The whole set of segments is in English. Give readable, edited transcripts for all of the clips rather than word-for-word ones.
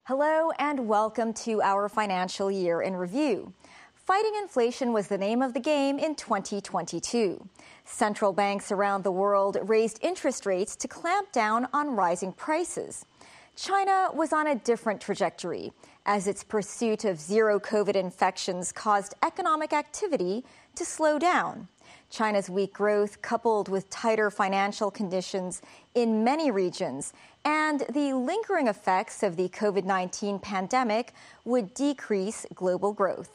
Hello and welcome to our financial year in review. Fighting inflation was the name of the game in 2022. Central banks around the world raised interest rates to clamp down on rising prices. China was on a different trajectory as its pursuit of zero COVID infections caused economic activity to slow down. China's weak growth, coupled with tighter financial conditions in many regions and the lingering effects of the COVID-19 pandemic, would decrease global growth.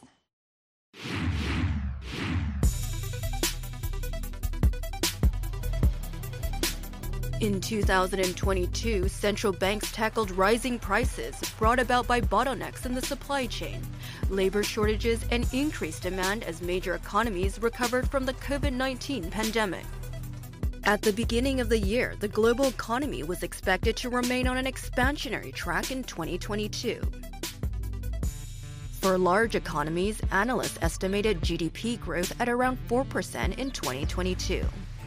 In 2022, central banks tackled rising prices brought about by bottlenecks in the supply chain, labor shortages, and increased demand as major economies recovered from the COVID-19 pandemic. At the beginning of the year, the global economy was expected to remain on an expansionary track in 2022. For large economies, analysts estimated GDP growth at around 4% in 2022.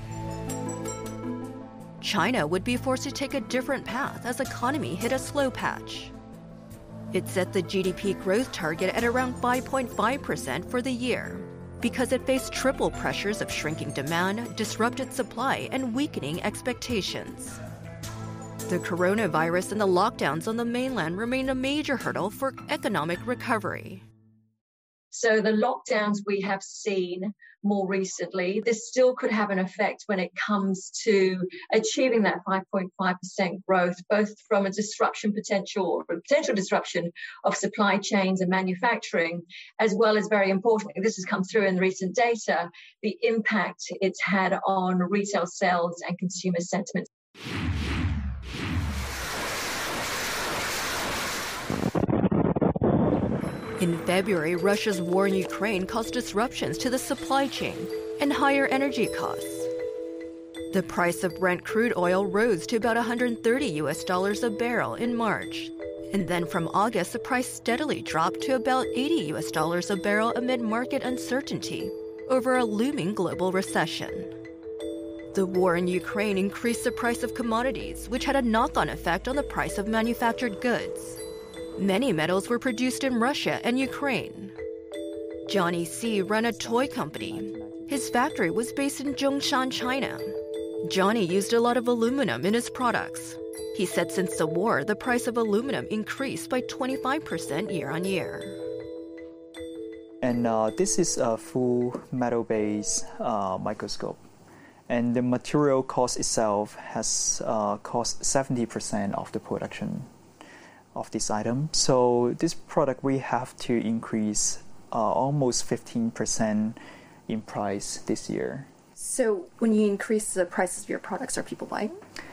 China would be forced to take a different path as the economy hit a slow patch. It set the GDP growth target at around 5.5% for the year because it faced triple pressures of shrinking demand, disrupted supply, and weakening expectations. The coronavirus and the lockdowns on the mainland remain a major hurdle for economic recovery. So the lockdowns we have seen more recently, this still could have an effect when it comes to achieving that 5.5% growth, both from a potential disruption of supply chains and manufacturing, as well as, very importantly, this has come through in recent data, the impact it's had on retail sales and consumer sentiment. In February, Russia's war in Ukraine caused disruptions to the supply chain and higher energy costs. The price of Brent crude oil rose to about $130 a barrel in March. And then from August, the price steadily dropped to about $80 a barrel amid market uncertainty over a looming global recession. The war in Ukraine increased the price of commodities, which had a knock-on effect on the price of manufactured goods. Many metals were produced in Russia and Ukraine. Johnny C. ran a toy company. His factory was based in Zhongshan, China. Johnny used a lot of aluminum in his products. He said since the war, the price of aluminum increased by 25% year on year. And this is a full metal-based microscope. And the material cost itself has cost 70% of the production of this item. So this product, we have to increase almost 15% in price this year. So when you increase the prices of your products, are people buying?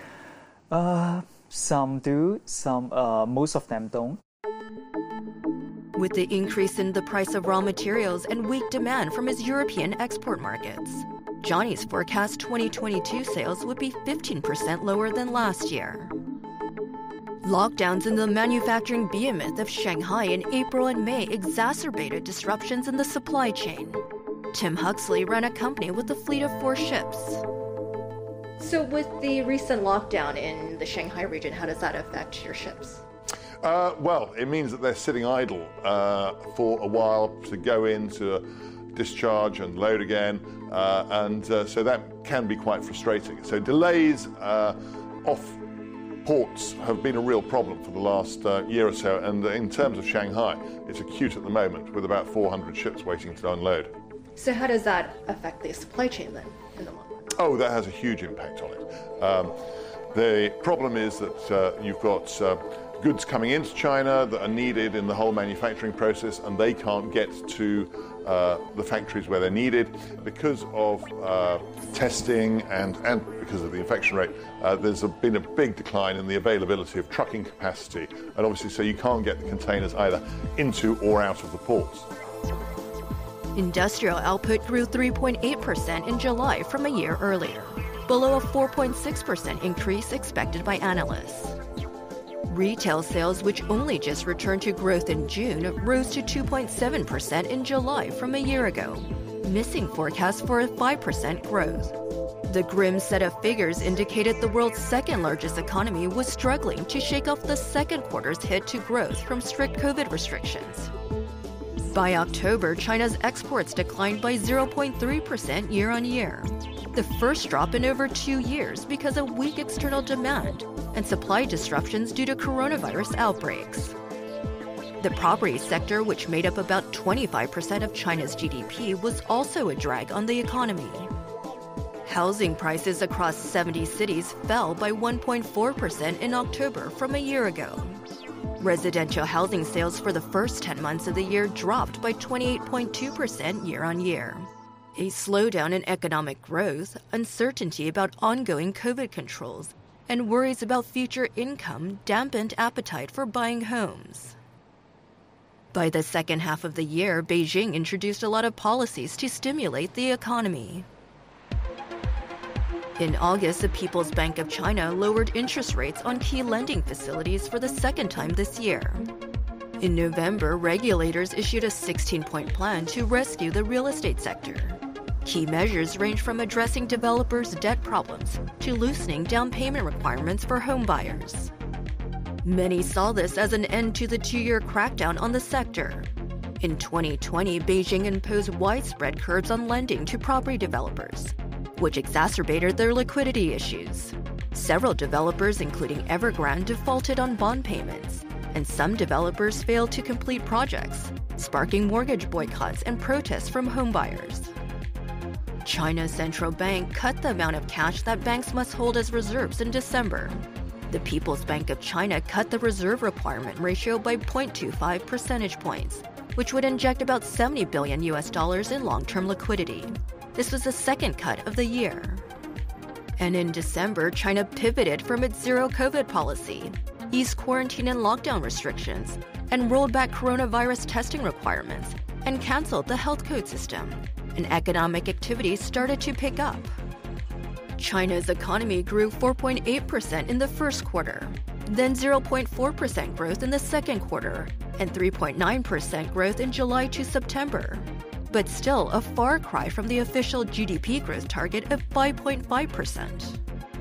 Some do, most of them don't. With the increase in the price of raw materials and weak demand from his European export markets, Johnny's forecast 2022 sales would be 15% lower than last year. Lockdowns in the manufacturing behemoth of Shanghai in April and May exacerbated disruptions in the supply chain. Tim Huxley ran a company with a fleet of 4 ships. So with the recent lockdown in the Shanghai region, how does that affect your ships? Well, it means that they're sitting idle for a while to go in to discharge and load again, so that can be quite frustrating. So delays off ports have been a real problem for the last year or so, and in terms of Shanghai, it's acute at the moment with about 400 ships waiting to unload. So how does that affect the supply chain then in the long run? Oh, that has a huge impact on it. The problem is that you've got goods coming into China that are needed in the whole manufacturing process, and they can't get to the factories where they're needed because of testing and because of the infection rate. There's been a big decline in the availability of trucking capacity, and obviously so you can't get the containers either into or out of the ports. Industrial output grew 3.8% in July from a year earlier, below a 4.6% increase expected by analysts. Retail sales, which only just returned to growth in June, rose to 2.7% in July from a year ago, missing forecasts for a 5% growth. The grim set of figures indicated the world's second-largest economy was struggling to shake off the second quarter's hit to growth from strict COVID restrictions. By October, China's exports declined by 0.3% year-on-year, the first drop in over 2 years because of weak external demand and supply disruptions due to coronavirus outbreaks. The property sector, which made up about 25% of China's GDP, was also a drag on the economy. Housing prices across 70 cities fell by 1.4% in October from a year ago. Residential housing sales for the first 10 months of the year dropped by 28.2% year-on-year. A slowdown in economic growth, uncertainty about ongoing COVID controls, and worries about future income dampened appetite for buying homes. By the second half of the year, Beijing introduced a lot of policies to stimulate the economy. In August, the People's Bank of China lowered interest rates on key lending facilities for the second time this year. In November, regulators issued a 16-point plan to rescue the real estate sector. Key measures range from addressing developers' debt problems to loosening down payment requirements for home buyers. Many saw this as an end to the 2-year crackdown on the sector. In 2020, Beijing imposed widespread curbs on lending to property developers, which exacerbated their liquidity issues. Several developers, including Evergrande, defaulted on bond payments, and some developers failed to complete projects, sparking mortgage boycotts and protests from homebuyers. China's central bank cut the amount of cash that banks must hold as reserves in December. The People's Bank of China cut the reserve requirement ratio by 0.25 percentage points, which would inject about $70 billion in long-term liquidity. This was the second cut of the year. And in December, China pivoted from its zero-COVID policy, eased quarantine and lockdown restrictions, and rolled back coronavirus testing requirements, and canceled the health code system. And economic activity started to pick up. China's economy grew 4.8% in the first quarter, then 0.4% growth in the second quarter, and 3.9% growth in July to September. But still a far cry from the official GDP growth target of 5.5%.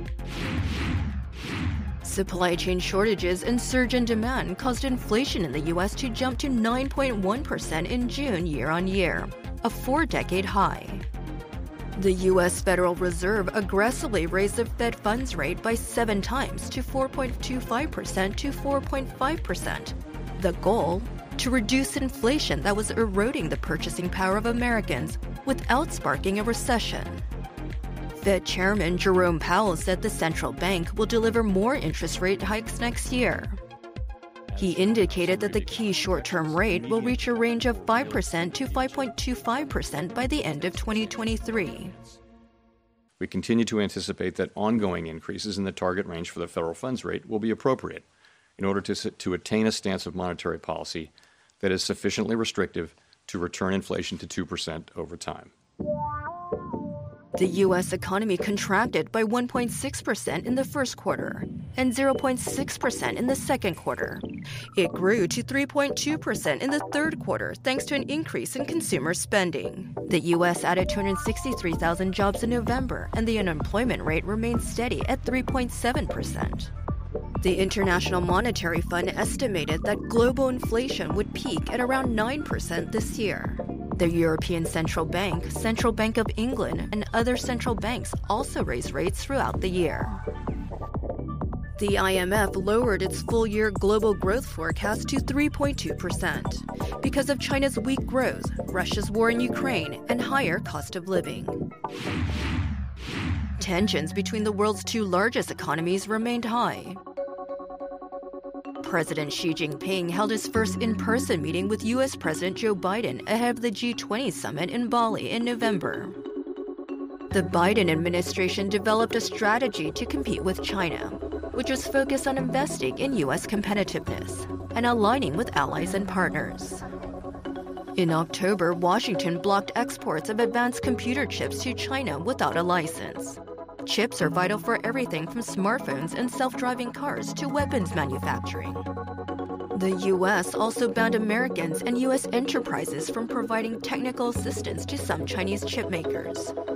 Supply chain shortages and surge in demand caused inflation in the U.S. to jump to 9.1% in June year-on-year, a 4-decade high. The U.S. Federal Reserve aggressively raised the Fed funds rate by 7 times to 4.25% to 4.5%. The goal? To reduce inflation that was eroding the purchasing power of Americans without sparking a recession. Fed Chairman Jerome Powell said the central bank will deliver more interest rate hikes next year. He indicated that the key short-term rate will reach a range of 5% to 5.25% by the end of 2023. We continue to anticipate that ongoing increases in the target range for the federal funds rate will be appropriate in order to attain a stance of monetary policy that is sufficiently restrictive to return inflation to 2% over time. The U.S. economy contracted by 1.6% in the first quarter and 0.6% in the second quarter. It grew to 3.2% in the third quarter thanks to an increase in consumer spending. The U.S. added 263,000 jobs in November, and the unemployment rate remained steady at 3.7%. The International Monetary Fund estimated that global inflation would peak at around 9% this year. The European Central Bank, Central Bank of England, and other central banks also raised rates throughout the year. The IMF lowered its full-year global growth forecast to 3.2% because of China's weak growth, Russia's war in Ukraine, and higher cost of living. Tensions between the world's 2 largest economies remained high. President Xi Jinping held his first in-person meeting with U.S. President Joe Biden ahead of the G20 summit in Bali in November. The Biden administration developed a strategy to compete with China, which was focused on investing in U.S. competitiveness and aligning with allies and partners. In October, Washington blocked exports of advanced computer chips to China without a license. Chips are vital for everything from smartphones and self-driving cars to weapons manufacturing. The U.S. also banned Americans and U.S. enterprises from providing technical assistance to some Chinese chip makers.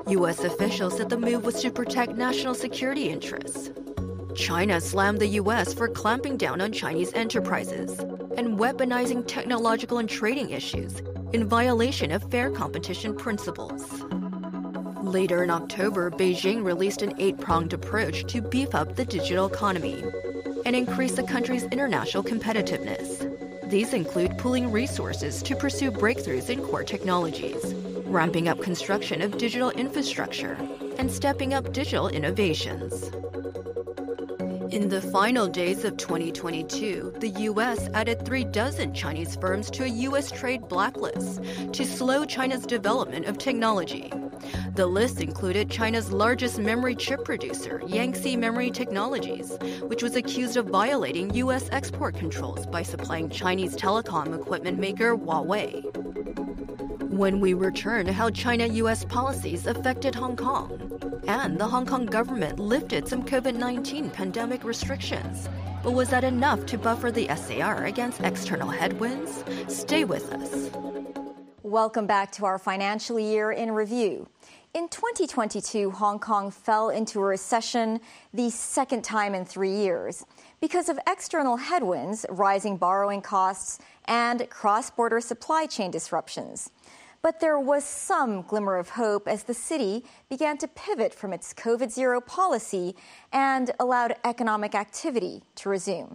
U.S. officials said the move was to protect national security interests. China slammed the U.S. for clamping down on Chinese enterprises and weaponizing technological and trading issues in violation of fair competition principles. Later in October, Beijing released an 8-pronged approach to beef up the digital economy and increase the country's international competitiveness. These include pooling resources to pursue breakthroughs in core technologies, ramping up construction of digital infrastructure, and stepping up digital innovations. In the final days of 2022, the U.S. added 36 Chinese firms to a U.S. trade blacklist to slow China's development of technology. The list included China's largest memory chip producer, Yangtze Memory Technologies, which was accused of violating U.S. export controls by supplying Chinese telecom equipment maker Huawei. When we return to how China-U.S. policies affected Hong Kong, and the Hong Kong government lifted some COVID-19 pandemic restrictions. But was that enough to buffer the SAR against external headwinds? Stay with us. Welcome back to our financial year in review. In 2022, Hong Kong fell into a recession the second time in 3 years because of external headwinds, rising borrowing costs, and cross-border supply chain disruptions. But there was some glimmer of hope as the city began to pivot from its COVID-0 policy and allowed economic activity to resume.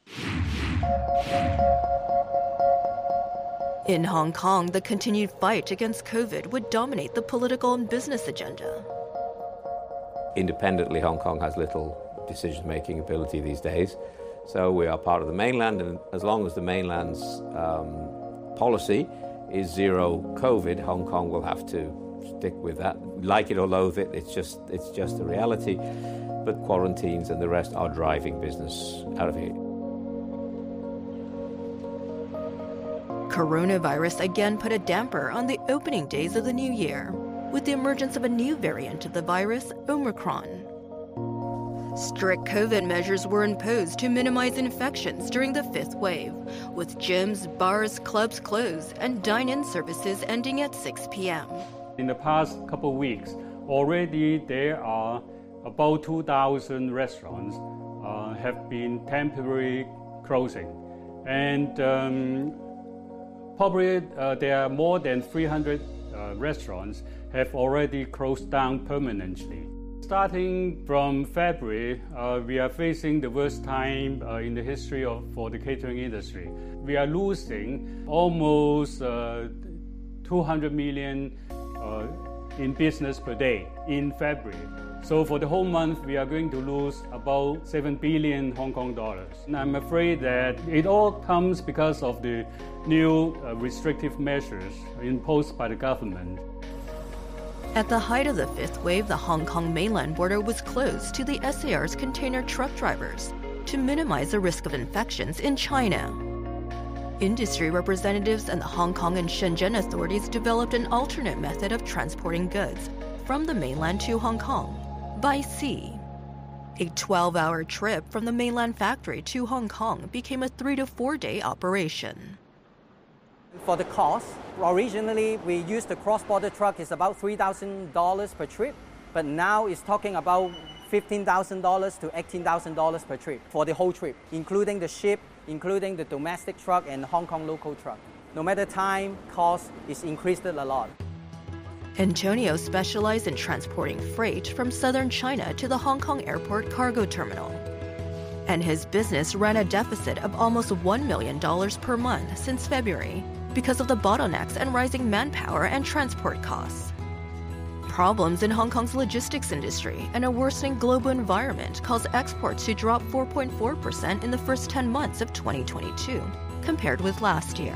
In Hong Kong, the continued fight against COVID would dominate the political and business agenda. Independently, Hong Kong has little decision-making ability these days. So we are part of the mainland, and as long as the mainland's policy is zero COVID, Hong Kong will have to stick with that. Like it or loathe it, it's just a reality. But quarantines and the rest are driving business out of here. Coronavirus again put a damper on the opening days of the new year, with the emergence of a new variant of the virus, Omicron. Strict COVID measures were imposed to minimize infections during the fifth wave, with gyms, bars, clubs closed and dine-in services ending at 6 p.m. In the past couple of weeks, already there are about 2,000 restaurants have been temporarily closing. And probably there are more than 300 restaurants have already closed down permanently. Starting from February, we are facing the worst time in the history for the catering industry. We are losing almost 200 million in business per day in February. So for the whole month, we are going to lose about 7 billion Hong Kong dollars. And I'm afraid that it all comes because of the new restrictive measures imposed by the government. At the height of the fifth wave, the Hong Kong mainland border was closed to the SAR's container truck drivers to minimize the risk of infections in China. Industry representatives and the Hong Kong and Shenzhen authorities developed an alternate method of transporting goods from the mainland to Hong Kong by sea. A 12-hour trip from the mainland factory to Hong Kong became a 3 to 4 day operation. For the cost, originally we used the cross-border truck is about $3,000 per trip, but now it's talking about $15,000 to $18,000 per trip for the whole trip, including the ship, including the domestic truck and Hong Kong local truck. No matter time, cost is increased a lot. Antonio specialized in transporting freight from southern China to the Hong Kong airport cargo terminal. And his business ran a deficit of almost $1 million per month since February because of the bottlenecks and rising manpower and transport costs. Problems in Hong Kong's logistics industry and a worsening global environment caused exports to drop 4.4% in the first 10 months of 2022 compared with last year.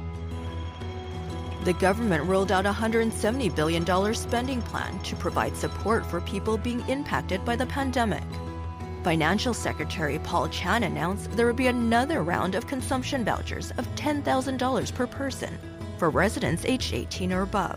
The government rolled out a $170 billion spending plan to provide support for people being impacted by the pandemic. Financial Secretary Paul Chan announced there would be another round of consumption vouchers of $10,000 per person for residents aged 18 or above.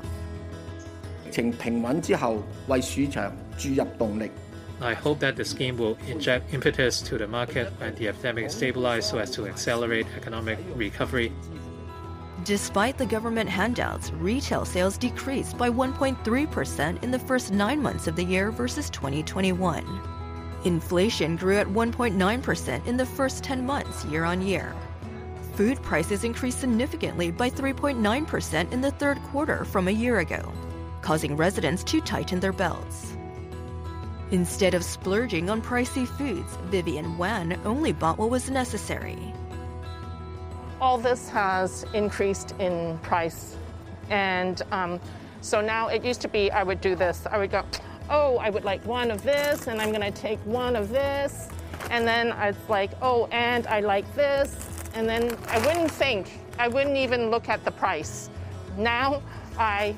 I hope that the scheme will inject impetus to the market when the epidemic stabilizes so as to accelerate economic recovery. Despite the government handouts, retail sales decreased by 1.3% in the first 9 months of the year versus 2021. Inflation grew at 1.9% in the first 10 months year-on-year. Food prices increased significantly by 3.9% in the third quarter from a year ago, causing residents to tighten their belts. Instead of splurging on pricey foods, Vivian Wan only bought what was necessary. All this has increased in price. And so now it used to be I would do this. I would go, oh, I would like one of this, and I'm going to take one of this. And then it's like, oh, and I like this. And then I wouldn't think. I wouldn't even look at the price. Now I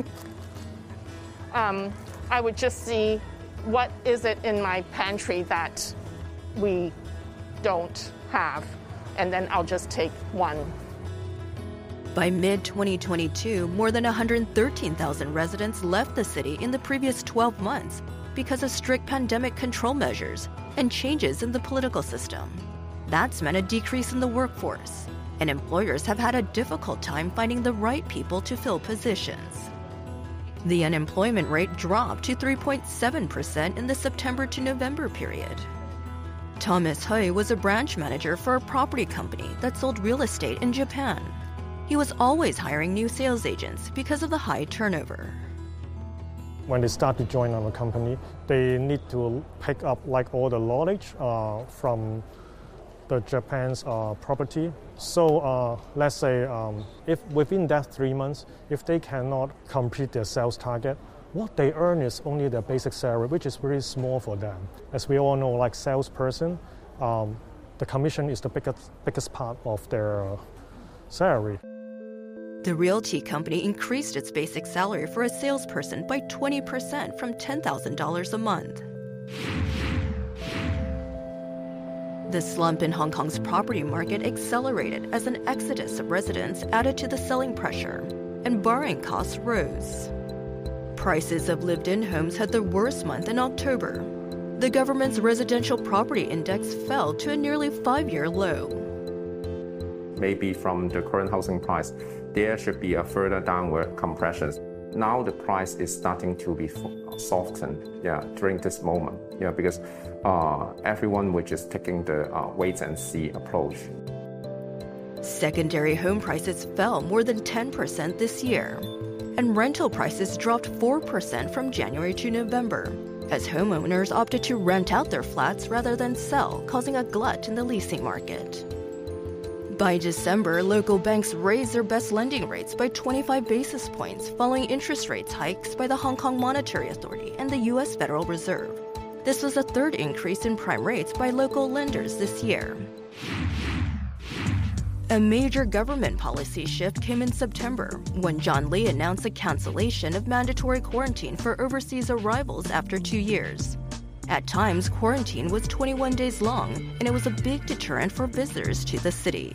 would just see what is it in my pantry that we don't have. And then I'll just take one. By mid-2022, more than 113,000 residents left the city in the previous 12 months because of strict pandemic control measures and changes in the political system. That's meant a decrease in the workforce, and employers have had a difficult time finding the right people to fill positions. The unemployment rate dropped to 3.7% in the September to November period. Thomas Hui was a branch manager for a property company that sold real estate in Japan. He was always hiring new sales agents because of the high turnover. When they start to join our company, they need to pick up like all the knowledge from the Japan's property. So let's say if within that 3 months, if they cannot complete their sales target, what they earn is only their basic salary, which is very small for them. As we all know, like salesperson, the commission is the biggest part of their salary. The realty company increased its basic salary for a salesperson by 20% from $10,000 a month. The slump in Hong Kong's property market accelerated as an exodus of residents added to the selling pressure, and borrowing costs rose. Prices of lived-in homes had their worst month in October. The government's residential property index fell to a nearly 5-year low. Maybe from the current housing price, there should be a further downward compression. Now the price is starting to be softened, during this moment, because everyone which is taking the wait and see approach. Secondary home prices fell more than 10% this year, and rental prices dropped 4% from January to November, as homeowners opted to rent out their flats rather than sell, causing a glut in the leasing market. By December, local banks raised their best lending rates by 25 basis points following interest rates hikes by the Hong Kong Monetary Authority and the U.S. Federal Reserve. This was a third increase in prime rates by local lenders this year. A major government policy shift came in September when John Lee announced a cancellation of mandatory quarantine for overseas arrivals after 2 years. At times, quarantine was 21 days long, and it was a big deterrent for visitors to the city.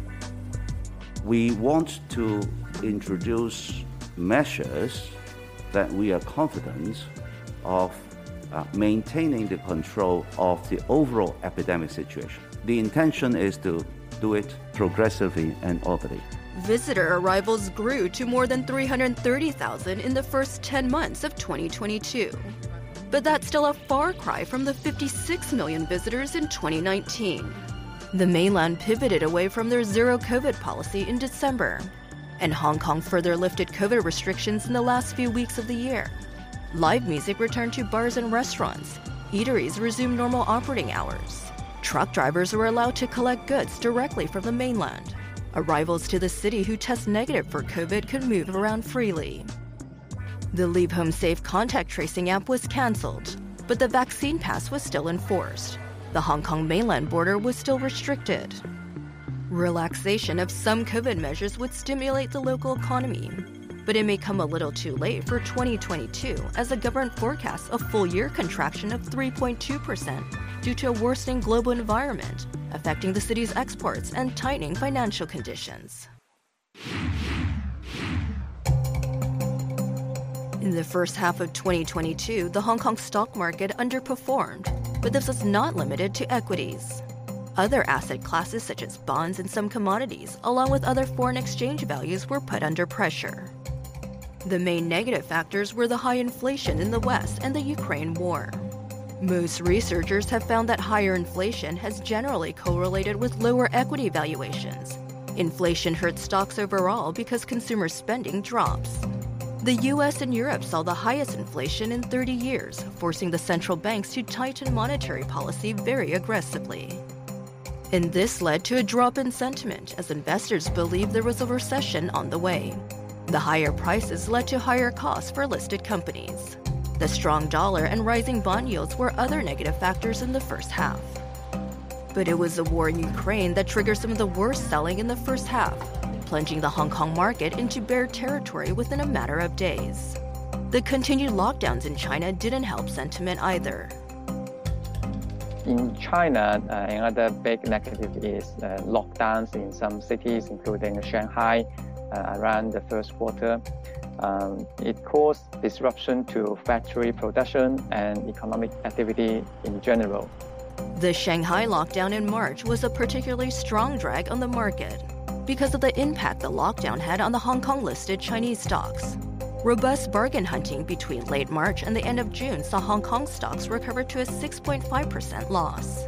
We want to introduce measures that we are confident of maintaining the control of the overall epidemic situation. The intention is to do it progressively and orderly. Visitor arrivals grew to more than 330,000 in the first 10 months of 2022. But that's still a far cry from the 56 million visitors in 2019. The mainland pivoted away from their zero-COVID policy in December, and Hong Kong further lifted COVID restrictions in the last few weeks of the year. Live music returned to bars and restaurants. Eateries resumed normal operating hours. Truck drivers were allowed to collect goods directly from the mainland. Arrivals to the city who test negative for COVID could move around freely. The Leave Home Safe contact tracing app was cancelled, but the vaccine pass was still enforced. The Hong Kong mainland border was still restricted. Relaxation of some COVID measures would stimulate the local economy, but it may come a little too late for 2022 as the government forecasts a full-year contraction of 3.2% due to a worsening global environment, affecting the city's exports and tightening financial conditions. In the first half of 2022, the Hong Kong stock market underperformed, but this was not limited to equities. Other asset classes such as bonds and some commodities, along with other foreign exchange values, were put under pressure. The main negative factors were the high inflation in the West and the Ukraine war. Most researchers have found that higher inflation has generally correlated with lower equity valuations. Inflation hurts stocks overall because consumer spending drops. The US and Europe saw the highest inflation in 30 years, forcing the central banks to tighten monetary policy very aggressively. And this led to a drop in sentiment as investors believed there was a recession on the way. The higher prices led to higher costs for listed companies. The strong dollar and rising bond yields were other negative factors in the first half. But it was the war in Ukraine that triggered some of the worst selling in the first half, plunging the Hong Kong market into bear territory within a matter of days. The continued lockdowns in China didn't help sentiment either. In China, another big negative is lockdowns in some cities, including Shanghai, around the first quarter. It caused disruption to factory production and economic activity in general. The Shanghai lockdown in March was a particularly strong drag on the market because of the impact the lockdown had on the Hong Kong-listed Chinese stocks. Robust bargain hunting between late March and the end of June saw Hong Kong stocks recover to a 6.5% loss.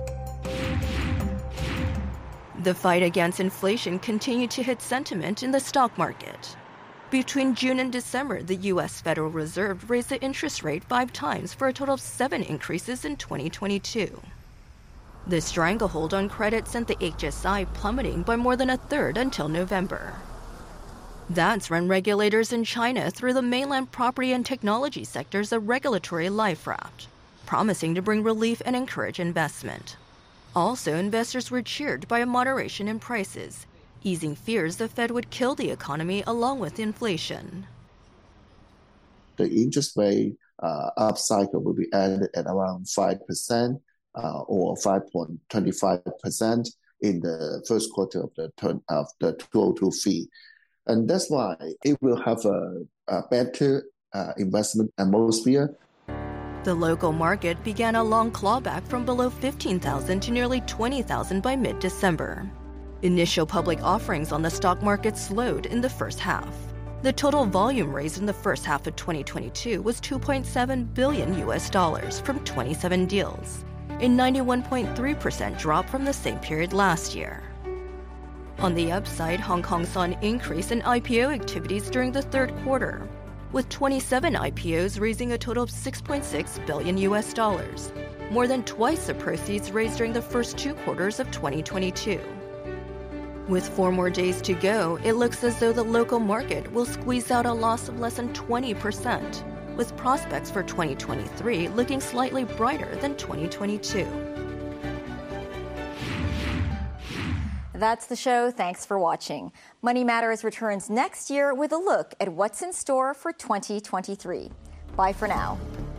The fight against inflation continued to hit sentiment in the stock market. Between June and December, the U.S. Federal Reserve raised the interest rate 5 times for a total of 7 increases in 2022. The stranglehold on credit sent the HSI plummeting by more than a third until November. That's when regulators in China threw the mainland property and technology sectors a regulatory life raft, promising to bring relief and encourage investment. Also, investors were cheered by a moderation in prices, easing fears the Fed would kill the economy along with inflation. The interest rate up cycle will be ended at around 5% or 5.25% in the first quarter of the 2023. And that's why it will have a better investment atmosphere. The local market began a long clawback from below 15,000 to nearly 20,000 by mid-December. Initial public offerings on the stock market slowed in the first half. The total volume raised in the first half of 2022 was $2.7 billion from 27 deals, a 91.3% drop from the same period last year. On the upside, Hong Kong saw an increase in IPO activities during the third quarter, with 27 IPOs raising a total of $6.6 billion, more than twice the proceeds raised during the first 2 quarters of 2022. With 4 more days to go, it looks as though the local market will squeeze out a loss of less than 20%, with prospects for 2023 looking slightly brighter than 2022. That's the show. Thanks for watching. Money Matters returns next year with a look at what's in store for 2023. Bye for now.